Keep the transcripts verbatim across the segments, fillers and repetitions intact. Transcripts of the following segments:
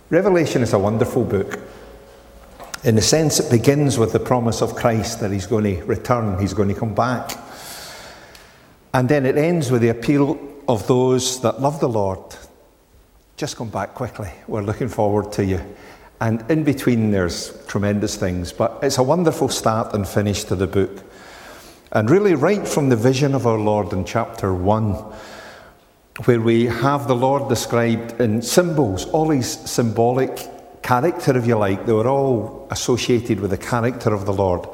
Revelation is a wonderful book. In a sense, it begins with the promise of Christ that he's going to return, he's going to come back. And then it ends with the appeal of those that love the Lord. Just come back quickly. We're looking forward to you. And in between there's tremendous things. But it's a wonderful start and finish to the book. And really right from the vision of our Lord in chapter one, where we have the Lord described in symbols, all his symbolic character, if you like. They were all associated with the character of the Lord.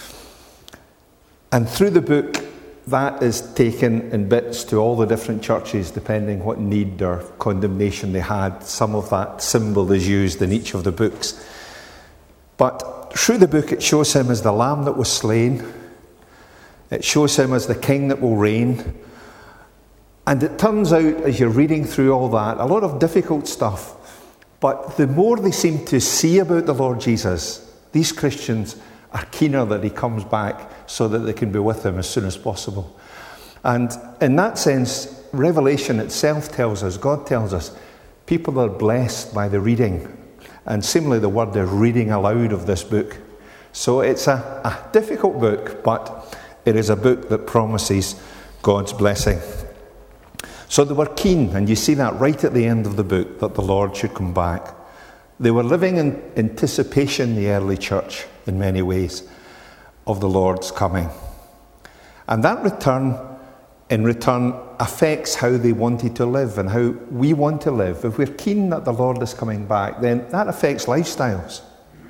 And through the book, that is taken in bits to all the different churches, depending what need or condemnation they had. Some of that symbol is used in each of the books. But through the book, it shows him as the Lamb that was slain. It shows him as the King that will reign. And it turns out, as you're reading through all that, a lot of difficult stuff. But the more they seem to see about the Lord Jesus, these Christians are keener that he comes back so that they can be with him as soon as possible. And in that sense, Revelation itself tells us, God tells us, people are blessed by the reading. And similarly, the word they're reading aloud of this book. So it's a, a difficult book, but it is a book that promises God's blessing. So they were keen, and you see that right at the end of the book, that the Lord should come back. They were living in anticipation, the early church, in many ways, of the Lord's coming. And that return, in return, affects how they wanted to live and how we want to live. If we're keen that the Lord is coming back, then that affects lifestyles.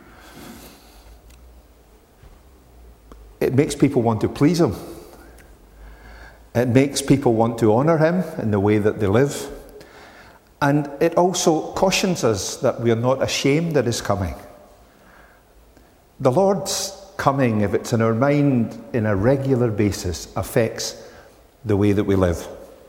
It makes people want to please him. It makes people want to honour him in the way that they live. And it also cautions us that we are not ashamed at his coming. The Lord's coming, if it's in our mind in a regular basis, affects the way that we live.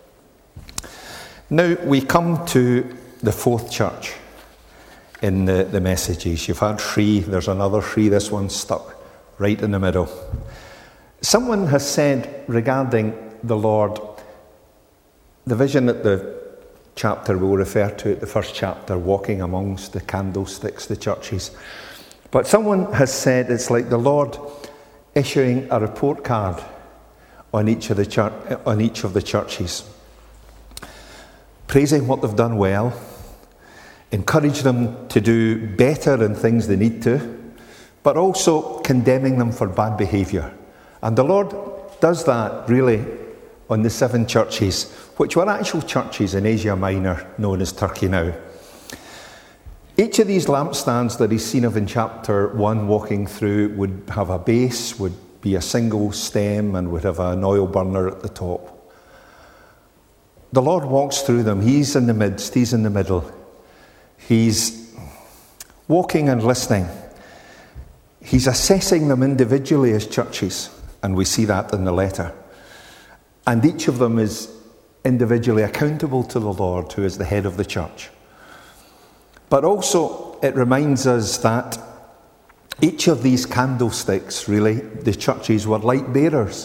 Now we come to the fourth church in the, the messages. You've had three, there's another three, this one's stuck right in the middle. Someone has said regarding the Lord, the vision at the chapter we'll refer to it, the first chapter, walking amongst the candlesticks, the churches. But someone has said it's like the Lord issuing a report card on each of the church, on each of the churches, praising what they've done well, encourage them to do better in things they need to, but also condemning them for bad behaviour. And the Lord does that really on the seven churches, which were actual churches in Asia Minor, known as Turkey now. Each of these lampstands that he's seen of in chapter one walking through would have a base, would be a single stem, and would have an oil burner at the top. The Lord walks through them. He's in the midst, he's in the middle. He's walking and listening. He's assessing them individually as churches, and we see that in the letter. And each of them is individually accountable to the Lord, who is the head of the church. But also, it reminds us that each of these candlesticks, really, the churches were light bearers.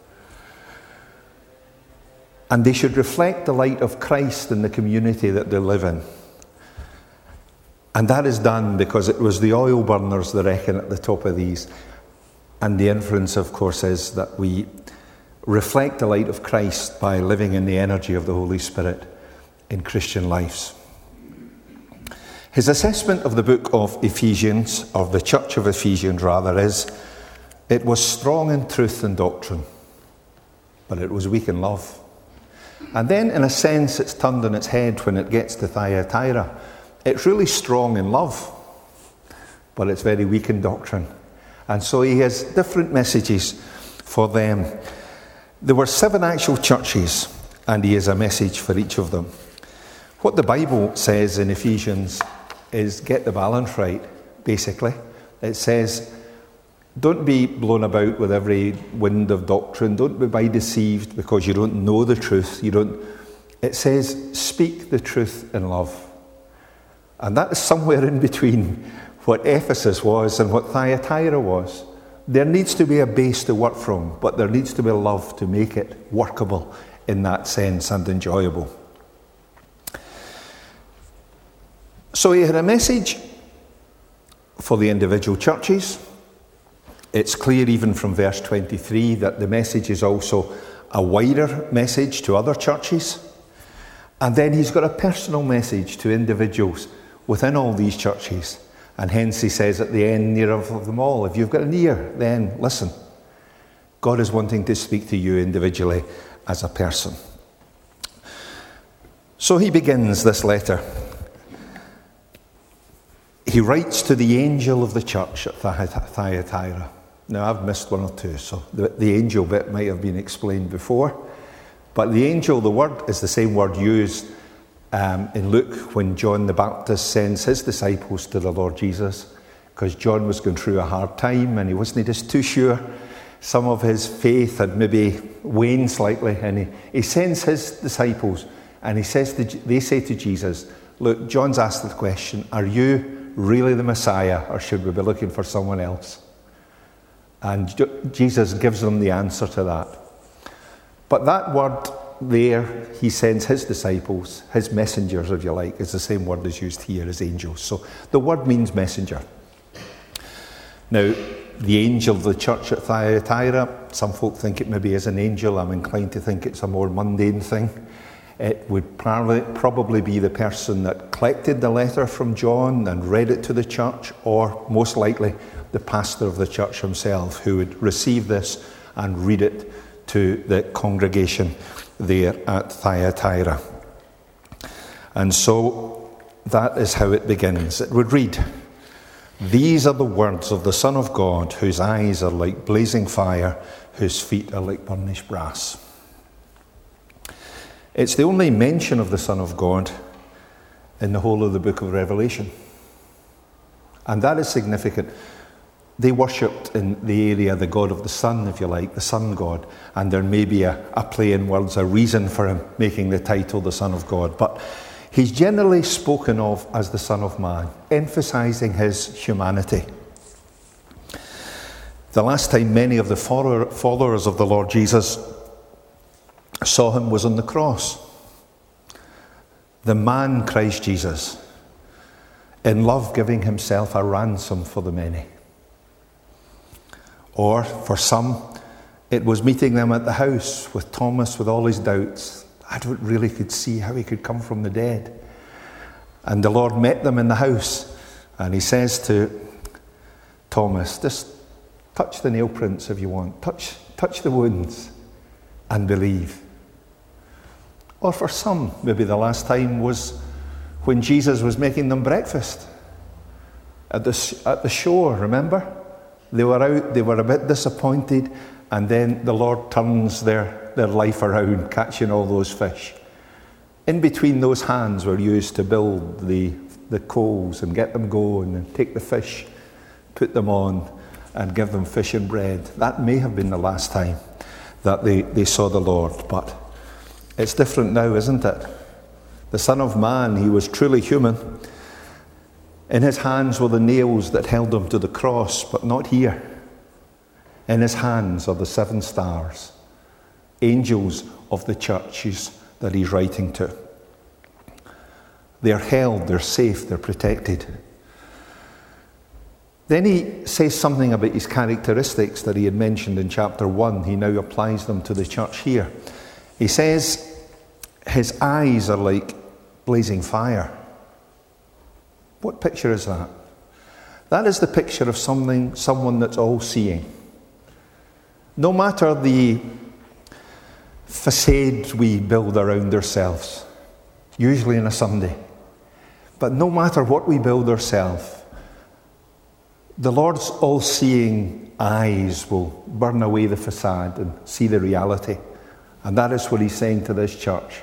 And they should reflect the light of Christ in the community that they live in. And that is done because it was the oil burners, they reckon, at the top of these. And the inference, of course, is that we reflect the light of Christ by living in the energy of the Holy Spirit in Christian lives. His assessment of the book of Ephesians, of the church of Ephesians rather, is it was strong in truth and doctrine, but it was weak in love. And then, in a sense, it's turned on its head when it gets to Thyatira. It's really strong in love, but it's very weak in doctrine. And so he has different messages for them. There were seven actual churches, and he has a message for each of them. What the Bible says in Ephesians is get the balance right, basically. It says, don't be blown about with every wind of doctrine. Don't be deceived because you don't know the truth. You don't. It says, speak the truth in love. And that is somewhere in between what Ephesus was and what Thyatira was. There needs to be a base to work from, but there needs to be love to make it workable in that sense and enjoyable. So he had a message for the individual churches. It's clear even from verse twenty-three that the message is also a wider message to other churches. And then he's got a personal message to individuals within all these churches. And hence he says at the end, near of them all, if you've got an ear, then listen. God is wanting to speak to you individually as a person. So he begins this letter. He writes to the angel of the church at Thyatira. Now, I've missed one or two, so the, the angel bit might have been explained before. But the angel, the word, is the same word used um, in Luke when John the Baptist sends his disciples to the Lord Jesus, because John was going through a hard time and he wasn't just too sure. Some of his faith had maybe waned slightly, and he, he sends his disciples, and he says to, they say to Jesus, look, John's asked the question, are you really the Messiah, or should we be looking for someone else? And Jesus gives them the answer to that. But that word there, he sends his disciples, his messengers, if you like, is the same word as used here as angels. So the word means messenger. Now, the angel of the church at Thyatira, some folk think it maybe is an angel. I'm inclined to think it's a more mundane thing. It would probably, probably be the person that collected the letter from John and read it to the church, or most likely the pastor of the church himself, who would receive this and read it to the congregation there at Thyatira. And so that is how it begins. It would read, these are the words of the Son of God, whose eyes are like blazing fire, whose feet are like burnished brass. It's the only mention of the Son of God in the whole of the book of Revelation. And that is significant. They worshipped in the area the God of the sun, if you like, the sun god. And there may be a, a play in words, a reason for him making the title the Son of God. But he's generally spoken of as the Son of Man, emphasizing his humanity. The last time many of the followers of the Lord Jesus saw him was on the cross. The man Christ Jesus, in love giving himself a ransom for the many. Or, for some, it was meeting them at the house with Thomas with all his doubts. I don't really could see how he could come from the dead. And the Lord met them in the house, and he says to Thomas, just touch the nail prints if you want. Touch, touch the wounds and believe. Or for some, maybe the last time was when Jesus was making them breakfast at the, at the shore, remember? They were out, they were a bit disappointed, and then the Lord turns their, their life around, catching all those fish. In between, those hands were used to build the, the coals and get them going and take the fish, put them on, and give them fish and bread. That may have been the last time that they, they saw the Lord, but it's different now, isn't it? The Son of Man, he was truly human. In his hands were the nails that held him to the cross, but not here. In his hands are the seven stars, angels of the churches that he's writing to. They're held, they're safe, they're protected. Then he says something about his characteristics that he had mentioned in chapter one. He now applies them to the church here. He says his eyes are like blazing fire. What picture is that? That is the picture of something, someone that's all-seeing. No matter the facade we build around ourselves, usually on a Sunday, but no matter what we build ourselves, the Lord's all-seeing eyes will burn away the facade and see the reality. And that is what he's saying to this church.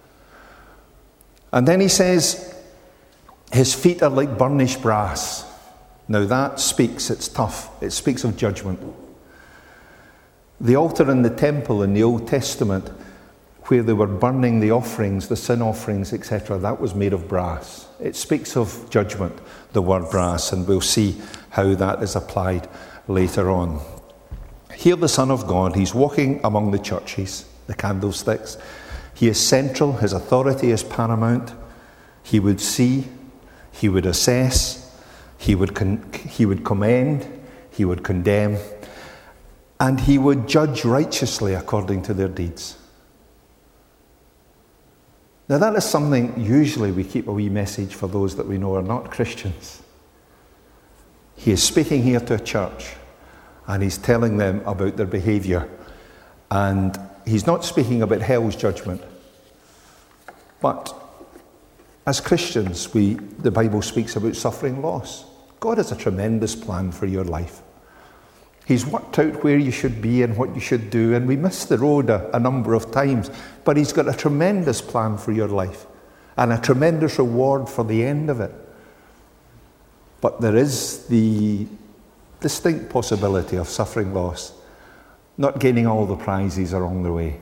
And then he says, his feet are like burnished brass. Now that speaks, it's tough, it speaks of judgment. The altar in the temple in the Old Testament, where they were burning the offerings, the sin offerings, et cetera, that was made of brass. It speaks of judgment, the word brass, and we'll see how that is applied later on. Here the Son of God, he's walking among the churches, the candlesticks. He is central, his authority is paramount. He would see, He would assess, he would, con- he would commend, he would condemn, and he would judge righteously according to their deeds. Now that is something usually we keep a wee message for those that we know are not Christians. He is speaking here to a church and he's telling them about their behaviour. And he's not speaking about hell's judgment. But as Christians, we the Bible speaks about suffering loss. God has a tremendous plan for your life. He's worked out where you should be and what you should do, and we miss the road a, a number of times. But he's got a tremendous plan for your life and a tremendous reward for the end of it. But there is the distinct possibility of suffering loss, not gaining all the prizes along the way.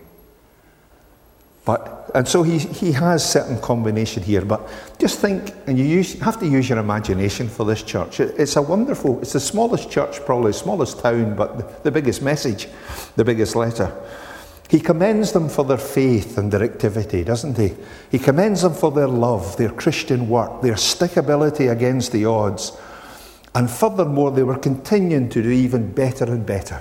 But and so he he has certain combination here. But just think, and you use, have to use your imagination for this church. It, it's a wonderful. It's the smallest church, probably smallest town, but the, the biggest message, the biggest letter. He commends them for their faith and their activity, doesn't he? He commends them for their love, their Christian work, their stickability against the odds. And furthermore, they were continuing to do even better and better.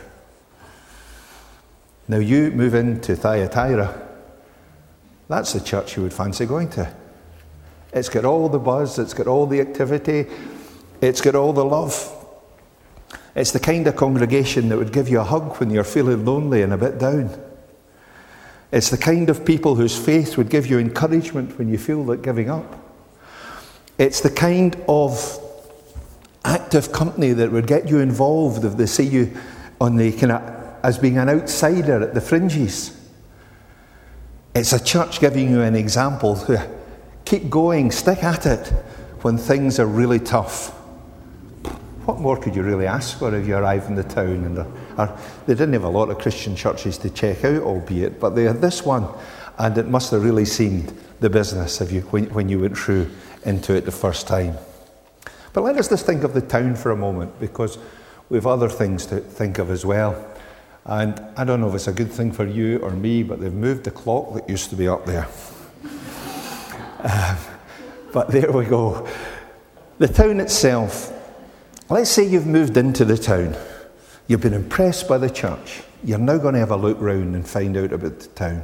Now you move into Thyatira. That's the church you would fancy going to. It's got all the buzz, it's got all the activity, it's got all the love. It's the kind of congregation that would give you a hug when you're feeling lonely and a bit down. It's the kind of people whose faith would give you encouragement when you feel like giving up. It's the kind of active company that would get you involved if they see you on the kind of as being an outsider at the fringes. It's a church giving you an example. Keep going, stick at it when things are really tough. What more could you really ask for if you arrive in the town? And or, they didn't have a lot of Christian churches to check out, albeit, but they had this one, and it must have really seemed the business if you, when, when you went through into it the first time. But let us just think of the town for a moment, because we have other things to think of as well. And I don't know if it's a good thing for you or me, but they've moved the clock that used to be up there. um, but there we go. The town itself. Let's say you've moved into the town. You've been impressed by the church. You're now going to have a look round and find out about the town.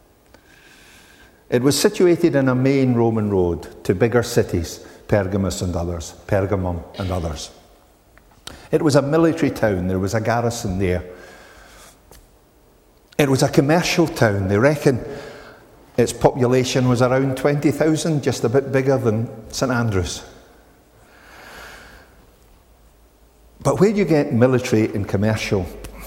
It was situated in a main Roman road to bigger cities, Pergamus and others, Pergamum and others. It was a military town. There was a garrison there. It was a commercial town. They reckon its population was around twenty thousand, just a bit bigger than St Andrews. But where you get military and commercial,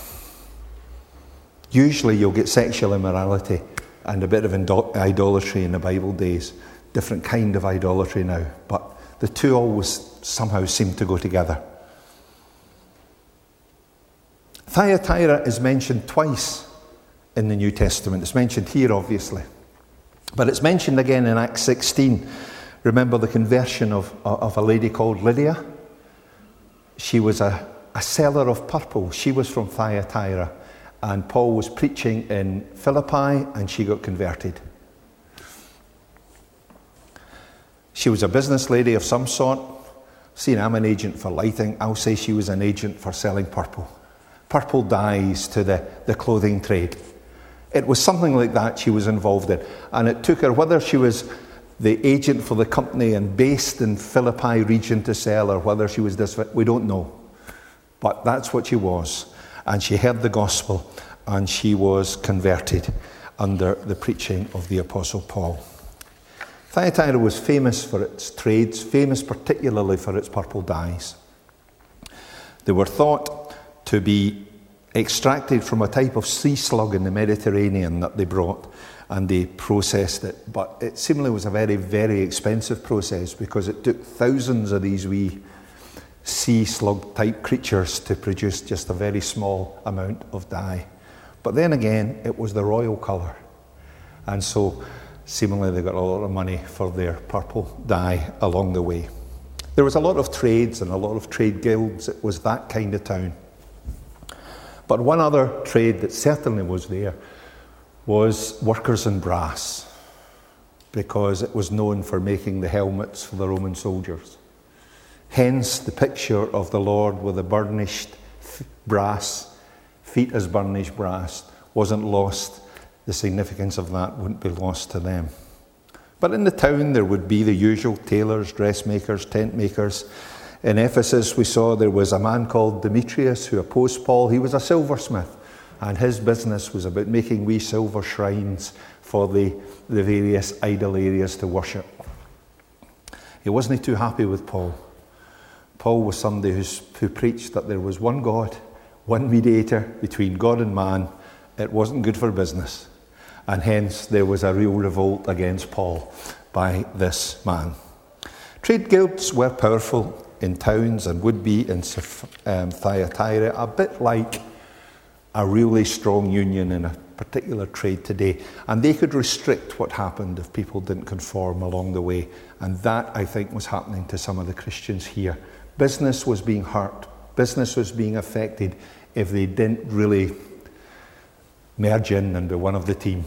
usually you'll get sexual immorality and a bit of idolatry in the Bible days. Different kind of idolatry now. But the two always somehow seem to go together. Thyatira is mentioned twice in the New Testament. It's mentioned here, obviously. But it's mentioned again in Acts sixteen. Remember the conversion of, of a lady called Lydia? She was a, a seller of purple. She was from Thyatira. And Paul was preaching in Philippi and she got converted. She was a business lady of some sort. See, I'm an agent for lighting. I'll say she was an agent for selling purple. Purple dyes to the, the clothing trade. It was something like that she was involved in. And it took her, whether she was the agent for the company and based in Philippi region to sell, or whether she was this, we don't know. But that's what she was. And she heard the gospel and she was converted under the preaching of the Apostle Paul. Thyatira was famous for its trades, famous particularly for its purple dyes. They were thought to be extracted from a type of sea slug in the Mediterranean that they brought, and they processed it. But it seemingly was a very, very expensive process because it took thousands of these wee sea slug type creatures to produce just a very small amount of dye. But then again, it was the royal colour. And so seemingly they got a lot of money for their purple dye along the way. There was a lot of trades and a lot of trade guilds. It was that kind of town. But one other trade that certainly was there was workers in brass. because it was known for making the helmets for the Roman soldiers. Hence the picture of the Lord with the burnished brass, feet as burnished brass, wasn't lost. The significance of that wouldn't be lost to them. But in the town there would be the usual tailors, dressmakers, tent makers. In Ephesus we saw there was a man called Demetrius who opposed Paul. He was a silversmith, and his business was about making wee silver shrines for the, the various idol areas to worship. He wasn't too happy with Paul. Paul was somebody who's, who preached that there was one God, one mediator between God and man. It wasn't good for business. And hence there was a real revolt against Paul by this man. Trade guilds were powerful in towns and would be in um, Thyatira, a bit like a really strong union in a particular trade today. And they could restrict what happened if people didn't conform along the way. And that, I think, was happening to some of the Christians here. Business was being hurt. Business was being affected if they didn't really merge in and be one of the team.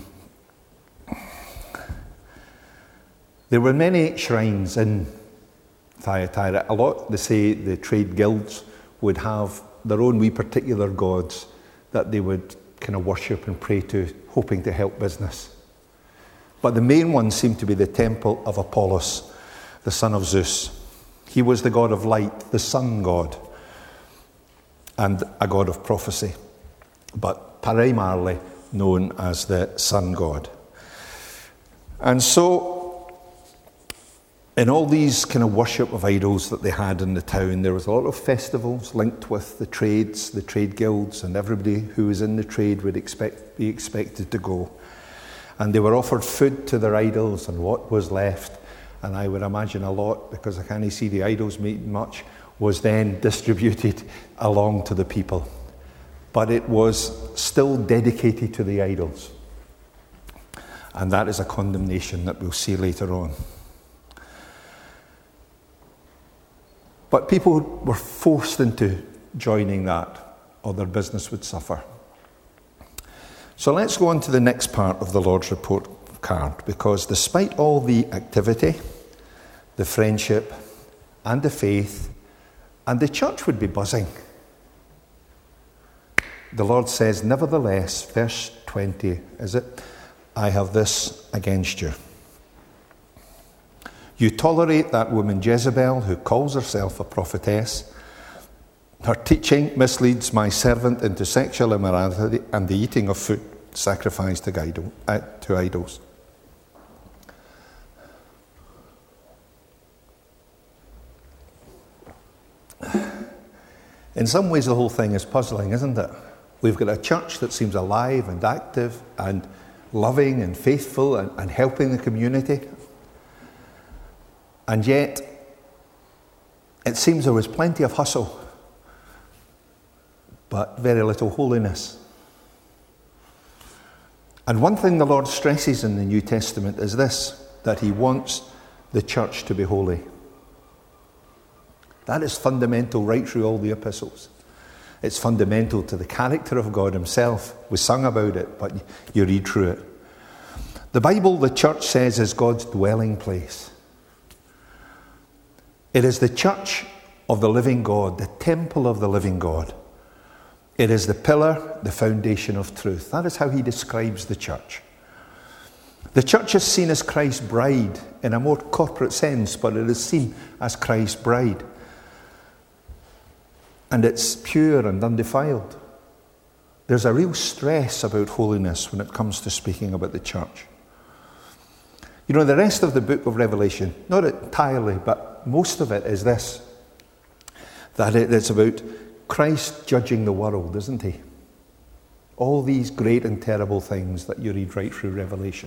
There were many shrines in Thyatira. A lot, they say, the trade guilds would have their own wee particular gods that they would kind of worship and pray to, hoping to help business. But the main one seemed to be the temple of Apollos, the son of Zeus. He was the god of light, the sun god, and a god of prophecy, but primarily known as the sun god. And so, in all these kind of worship of idols that they had in the town, there was a lot of festivals linked with the trades, the trade guilds, and everybody who was in the trade would expect, be expected to go. And they were offered food to their idols and what was left. And I would imagine a lot, because I can't see the idols meeting much, was then distributed along to the people. But it was still dedicated to the idols. And that is a condemnation that we'll see later on. But people were forced into joining that, or their business would suffer. So let's go on to the next part of the Lord's report card, because despite all the activity, the friendship, and the faith, and the church would be buzzing, the Lord says, nevertheless, verse twenty, is it? I have this against you. You tolerate that woman Jezebel, who calls herself a prophetess. Her teaching misleads my servant into sexual immorality and the eating of food sacrificed to, idol, uh, to idols. In some ways, the whole thing is puzzling, isn't it? We've got a church that seems alive and active and loving and faithful and, and helping the community. And yet, it seems there was plenty of hustle, but very little holiness. And one thing the Lord stresses in the New Testament is this, that he wants the church to be holy. That is fundamental right through all the epistles. It's fundamental to the character of God himself. We sung about it, but you read through it. The Bible, the church says, is God's dwelling place. It is the church of the living God, the temple of the living God. It is the pillar, the foundation of truth. That is how he describes the church. The church is seen as Christ's bride in a more corporate sense, but it is seen as Christ's bride. And it's pure and undefiled. There's a real stress about holiness when it comes to speaking about the church. You know, the rest of the book of Revelation, not entirely, but most of it is this, that it's about Christ judging the world, isn't he? All these great and terrible things that you read right through Revelation.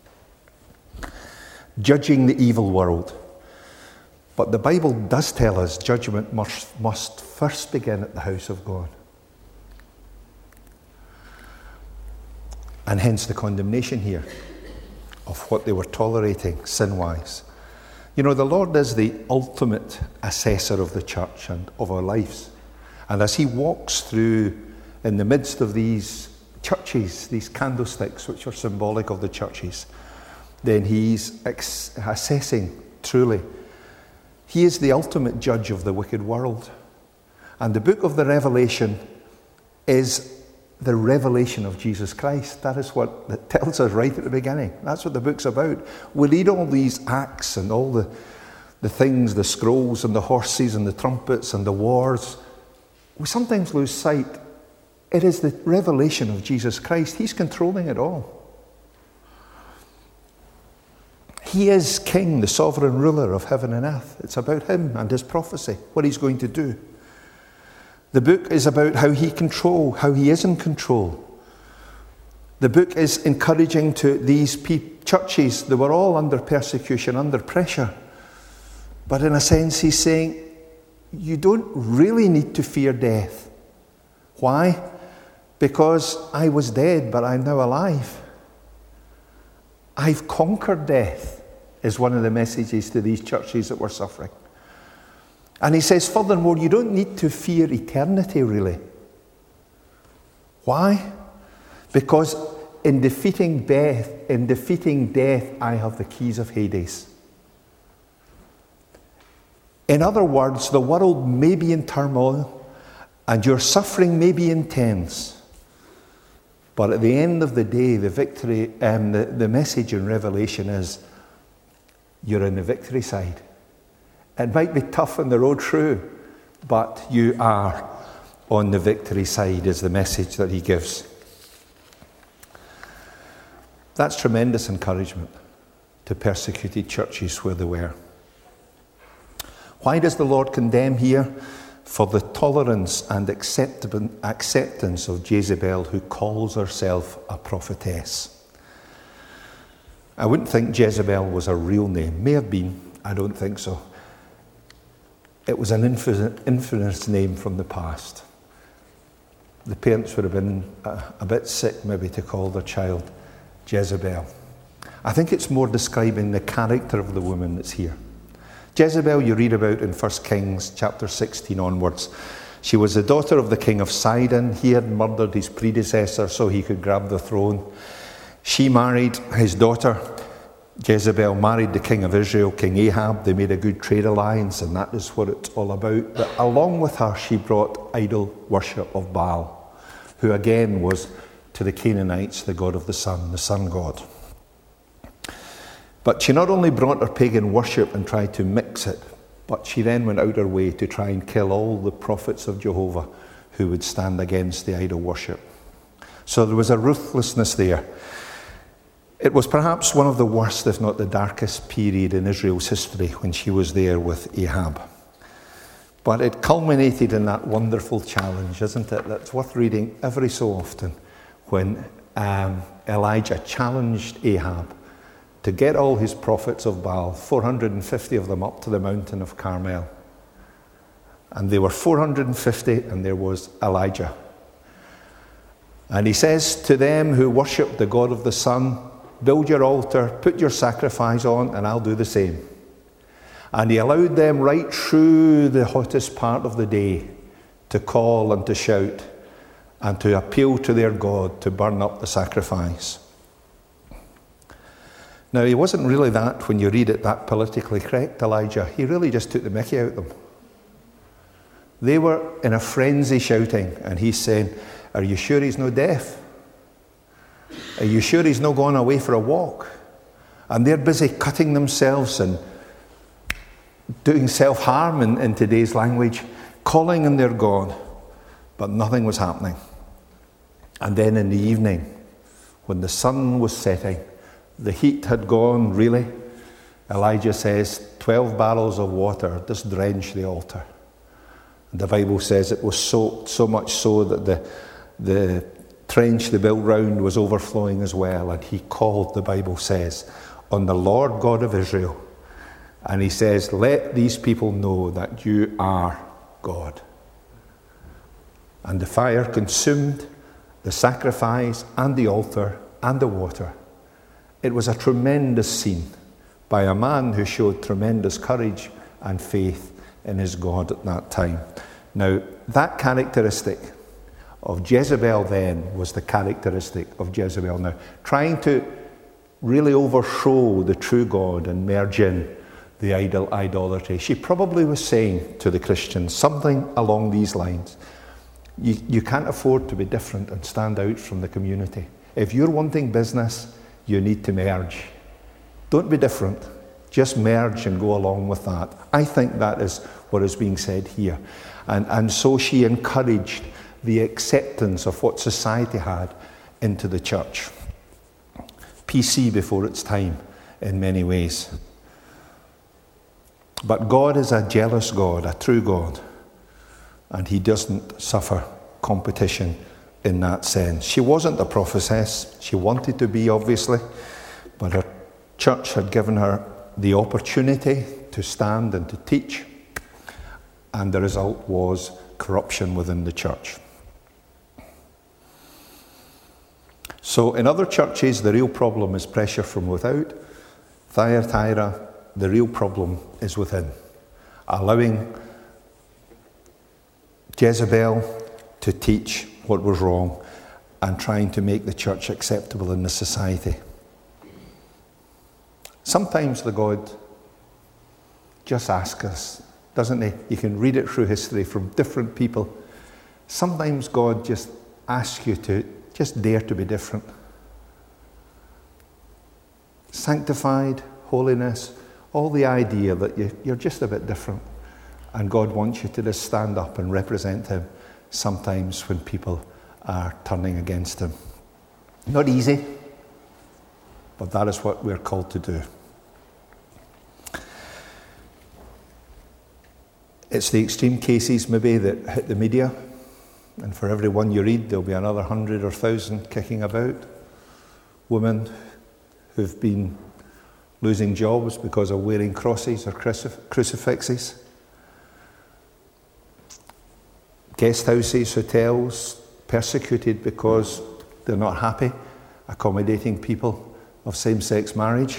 Judging the evil world. But the Bible does tell us judgment must, must first begin at the house of God. And hence the condemnation here of what they were tolerating sin-wise. You know, the Lord is the ultimate assessor of the church and of our lives. And as he walks through in the midst of these churches, these candlesticks which are symbolic of the churches, then he's ex- assessing truly. He is the ultimate judge of the wicked world. And the book of the Revelation is the revelation of Jesus Christ. That is what it tells us right at the beginning. That's what the book's about. We read all these acts and all the, the things, the scrolls and the horses and the trumpets and the wars. We sometimes lose sight. It is the revelation of Jesus Christ. He's controlling it all. He is King, the sovereign ruler of heaven and earth. It's about him and his prophecy, what he's going to do. The book is about how he control, how he is in control. The book is encouraging to these pe- churches. They were all under persecution, under pressure. But in a sense, he's saying, you don't really need to fear death. Why? Because I was dead, but I'm now alive. I've conquered death, is one of the messages to these churches that were suffering. And he says, furthermore, you don't need to fear eternity, really. Why? Because in defeating death, in defeating death, I have the keys of Hades. In other words, the world may be in turmoil, and your suffering may be intense. But at the end of the day, the victory, um, the, the message in Revelation is, you're on the victory side. It might be tough on the road through, but you are on the victory side, is the message that he gives. That's tremendous encouragement to persecuted churches where they were. Why does the Lord condemn here? For the tolerance and acceptance of Jezebel, who calls herself a prophetess. I wouldn't think Jezebel was a real name. May have been. I don't think so. It was an infamous name from the past. The parents would have been a, a bit sick maybe to call their child Jezebel. I think it's more describing the character of the woman that's here. Jezebel you read about in First Kings chapter sixteen onwards. She was the daughter of the king of Sidon. He had murdered his predecessor so he could grab the throne. She married his daughter. Jezebel married the king of Israel, King Ahab. They made a good trade alliance, and that is what it's all about. But along with her, she brought idol worship of Baal, who again was to the Canaanites the god of the sun, the sun god. But she not only brought her pagan worship and tried to mix it, but she then went out her way to try and kill all the prophets of Jehovah who would stand against the idol worship. So there was a ruthlessness there. It was perhaps one of the worst, if not the darkest period in Israel's history when she was there with Ahab. But it culminated in that wonderful challenge, isn't it? That's worth reading every so often, when um, Elijah challenged Ahab to get all his prophets of Baal, four hundred fifty of them, up to the mountain of Carmel. And they were four hundred fifty, and there was Elijah. And he says to them who worship the god of the sun, build your altar, put your sacrifice on, and I'll do the same. And he allowed them right through the hottest part of the day to call and to shout and to appeal to their God to burn up the sacrifice. Now, he wasn't really that, when you read it, that politically correct, Elijah. He really just took the mickey out of them. They were in a frenzy shouting, and he's saying, are you sure he's no deaf? Are you sure he's not gone away for a walk? And they're busy cutting themselves and doing self-harm in, in today's language, calling on their God, but nothing was happening. And then in the evening, when the sun was setting, the heat had gone, really, Elijah says, twelve barrels of water just drenched the altar. And the Bible says it was soaked, so much so that the, the trench they built round was overflowing as well. And he called, the Bible says, on the Lord God of Israel. And he says, let these people know that you are God. And the fire consumed the sacrifice and the altar and the water. It was a tremendous scene by a man who showed tremendous courage and faith in his God at that time. Now, that characteristic of Jezebel then was the characteristic of Jezebel now. Trying to really overthrow the true God and merge in the idol idolatry. She probably was saying to the Christians something along these lines. You, you can't afford to be different and stand out from the community. If you're wanting business, you need to merge. Don't be different. Just merge and go along with that. I think that is what is being said here. And, and so she encouraged the acceptance of what society had into the church. P C before its time in many ways. But God is a jealous God, a true God, and he doesn't suffer competition in that sense. She wasn't a prophetess. She wanted to be, obviously, but her church had given her the opportunity to stand and to teach, and the result was corruption within the church. So in other churches, the real problem is pressure from without. Thyatira, the real problem is within. Allowing Jezebel to teach what was wrong and trying to make the church acceptable in the society. Sometimes the God just asks us, doesn't he? You can read it through history from different people. Sometimes God just asks you to just dare to be different. Sanctified, holiness, all the idea that you, you're just a bit different. And God wants you to just stand up and represent him sometimes when people are turning against him. Not easy, but that is what we're called to do. It's the extreme cases maybe that hit the media, and for every one you read there'll be another hundred or thousand kicking about. Women who've been losing jobs because of wearing crosses or crucif- crucifixes. Guest houses, hotels, persecuted because they're not happy accommodating people of same-sex marriage.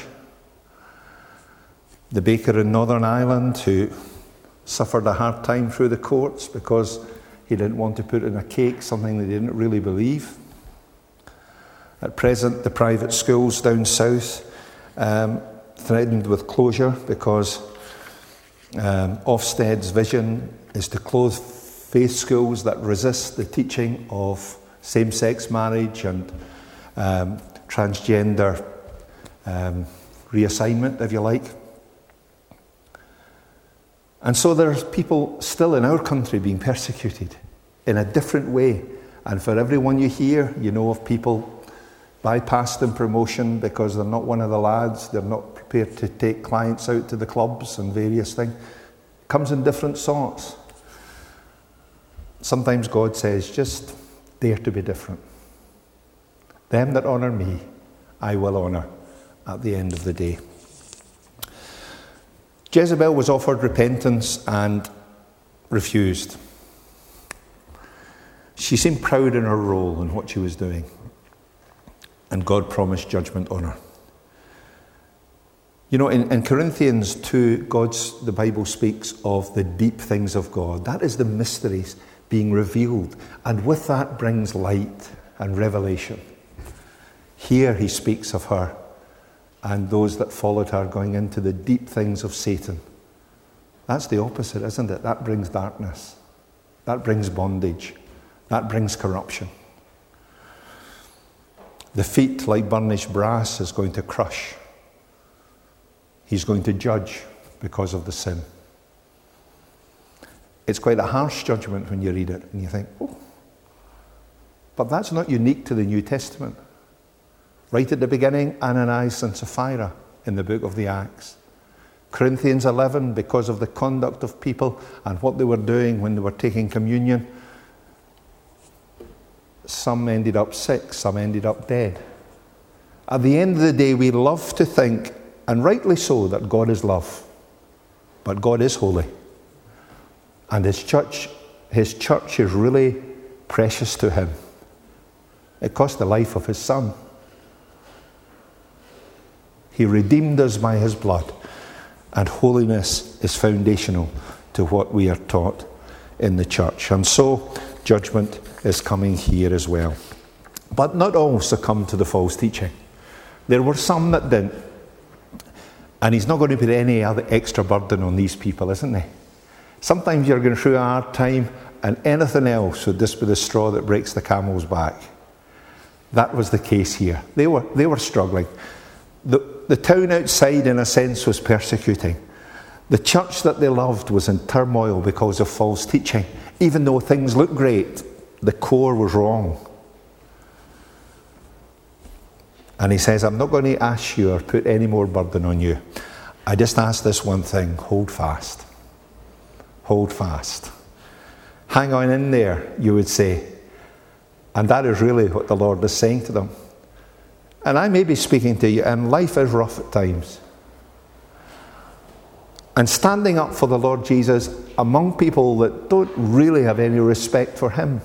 The baker in Northern Ireland who suffered a hard time through the courts because he didn't want to put in a cake something they didn't really believe. At present, the private schools down south um, threatened with closure because um, Ofsted's vision is to close faith schools that resist the teaching of same-sex marriage and um, transgender um, reassignment, if you like. And so there's people still in our country being persecuted in a different way. And for everyone you hear, you know of people bypassed in promotion because they're not one of the lads, they're not prepared to take clients out to the clubs and various things. It comes in different sorts. Sometimes God says, just dare to be different. Them that honour me, I will honour at the end of the day. Jezebel was offered repentance and refused. She seemed proud in her role and what she was doing. And God promised judgment on her. You know, in, in Corinthians two, God's, the Bible speaks of the deep things of God. That is the mysteries being revealed. And with that brings light and revelation. Here he speaks of her and those that followed her going into the deep things of Satan. That's the opposite, isn't it? That brings darkness. That brings bondage. That brings corruption. The feet, like burnished brass, is going to crush. He's going to judge because of the sin. It's quite a harsh judgment when you read it and you think, oh. But that's not unique to the New Testament. Right at the beginning, Ananias and Sapphira in the book of the Acts. Corinthians eleven, because of the conduct of people and what they were doing when they were taking communion, some ended up sick, some ended up dead. At the end of the day, we love to think, and rightly so, that God is love. But God is holy. And his church, his church is really precious to him. It cost the life of his son. He redeemed us by his blood. And holiness is foundational to what we are taught in the church. And so, judgment is coming here as well. But not all succumb to the false teaching. There were some that didn't. And he's not going to put any other extra burden on these people, isn't he? Sometimes you're going through a hard time and anything else would just be the straw that breaks the camel's back. That was the case here. They were, they were struggling. The, the town outside, in a sense, was persecuting. The church that they loved was in turmoil because of false teaching. Even though things looked great, the core was wrong. And he says, I'm not going to ask you or put any more burden on you. I just ask this one thing: hold fast. Hold fast. Hang on in there, you would say. And that is really what the Lord is saying to them. And I may be speaking to you, and life is rough at times. And standing up for the Lord Jesus among people that don't really have any respect for him,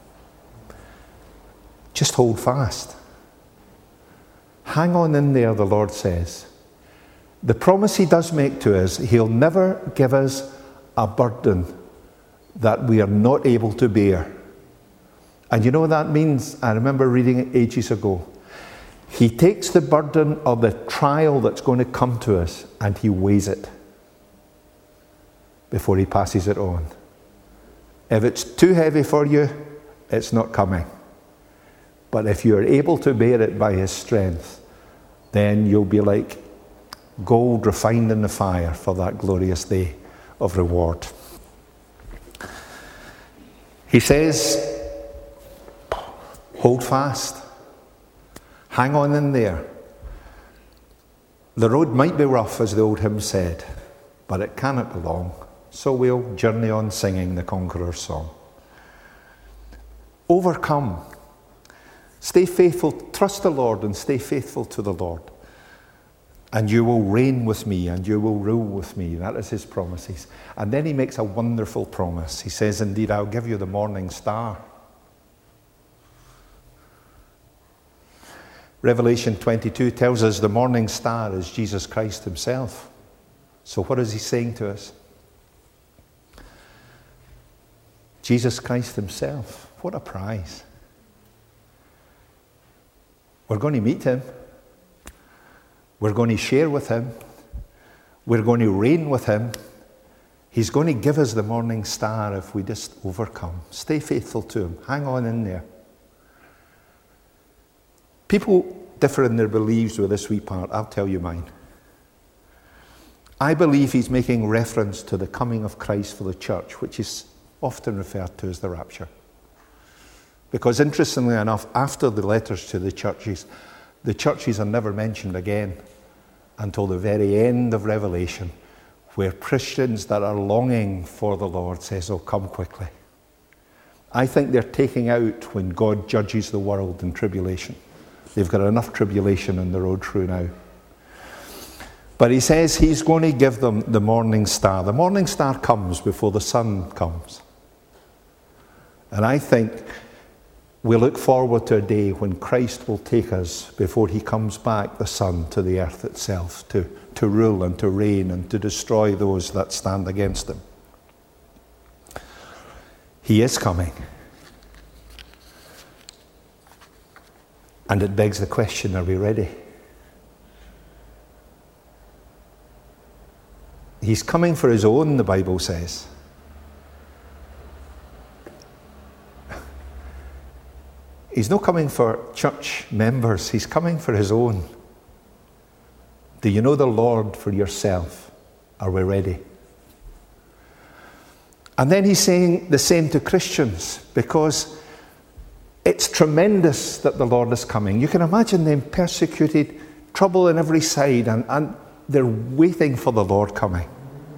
just hold fast. Hang on in there, the Lord says. The promise he does make to us, he'll never give us a burden that we are not able to bear. And you know what that means? I remember reading it ages ago. He takes the burden of the trial that's going to come to us and he weighs it before he passes it on. If it's too heavy for you, it's not coming. But if you are able to bear it by his strength, then you'll be like gold refined in the fire for that glorious day of reward. He says, hold fast. Hang on in there. The road might be rough, as the old hymn said, but it cannot be long. So we'll journey on singing the Conqueror's Song. Overcome. Stay faithful. Trust the Lord and stay faithful to the Lord. And you will reign with me and you will rule with me. That is his promises. And then he makes a wonderful promise. He says, indeed, I'll give you the morning star. Revelation twenty-two tells us the morning star is Jesus Christ himself. So what is he saying to us? Jesus Christ himself. What a prize. We're going to meet him. We're going to share with him. We're going to reign with him. He's going to give us the morning star if we just overcome. Stay faithful to him. Hang on in there. People differ in their beliefs with this wee part. I'll tell you mine. I believe he's making reference to the coming of Christ for the church, which is often referred to as the rapture. Because interestingly enough, after the letters to the churches, the churches are never mentioned again until the very end of Revelation, where Christians that are longing for the Lord says, oh, come quickly. I think they're taking out when God judges the world in tribulation. They've got enough tribulation on the road through now. But he says he's going to give them the morning star. The morning star comes before the sun comes. And I think we look forward to a day when Christ will take us, before he comes back, the sun, to the earth itself, to, to rule and to reign and to destroy those that stand against him. He is coming. And it begs the question, are we ready? He's coming for his own, the Bible says. He's not coming for church members. He's coming for his own. Do you know the Lord for yourself? Are we ready? And then he's saying the same to Christians, because it's tremendous that the Lord is coming. You can imagine them persecuted, trouble on every side, and, and they're waiting for the Lord coming.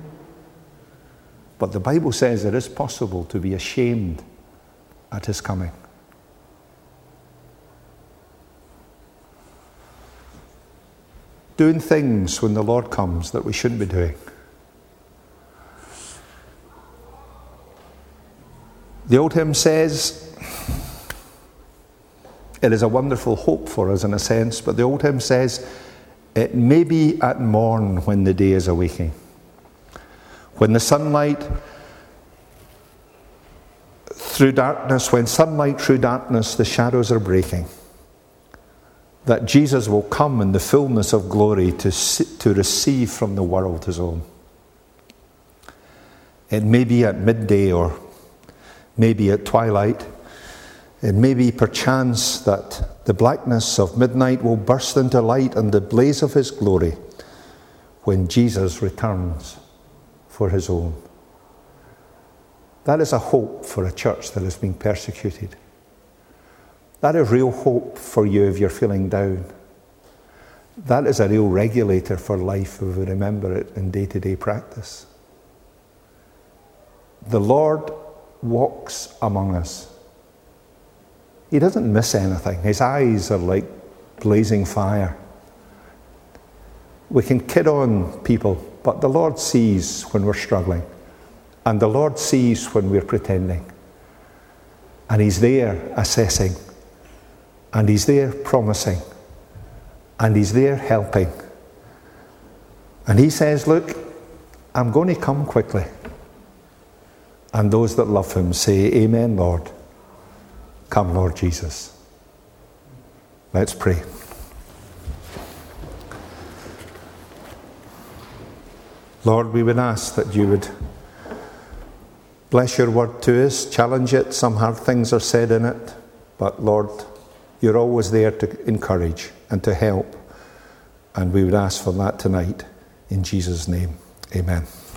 But the Bible says it is possible to be ashamed at his coming. Doing things when the Lord comes that we shouldn't be doing. The old hymn says, it is a wonderful hope for us in a sense, but the old hymn says, it may be at morn when the day is awaking. When the sunlight through darkness, when sunlight through darkness, the shadows are breaking. that Jesus will come in the fullness of glory to, to receive from the world his own. It may be at midday or maybe at twilight. It may be perchance that the blackness of midnight will burst into light and the blaze of his glory when Jesus returns for his own. That is a hope for a church that has been persecuted. That is real hope for you if you're feeling down. That is a real regulator for life if we remember it in day-to-day practice. The Lord walks among us. He doesn't miss anything. His eyes are like blazing fire. We can kid on people, but the Lord sees when we're struggling. And the Lord sees when we're pretending. And he's there assessing. And he's there promising. And he's there helping. And he says, look, I'm going to come quickly. And those that love him say, Amen, Lord. Come, Lord Jesus. Let's pray. Lord, we would ask that you would bless your word to us, challenge it. Some hard things are said in it. But Lord, you're always there to encourage and to help. And we would ask for that tonight. In Jesus' name, amen.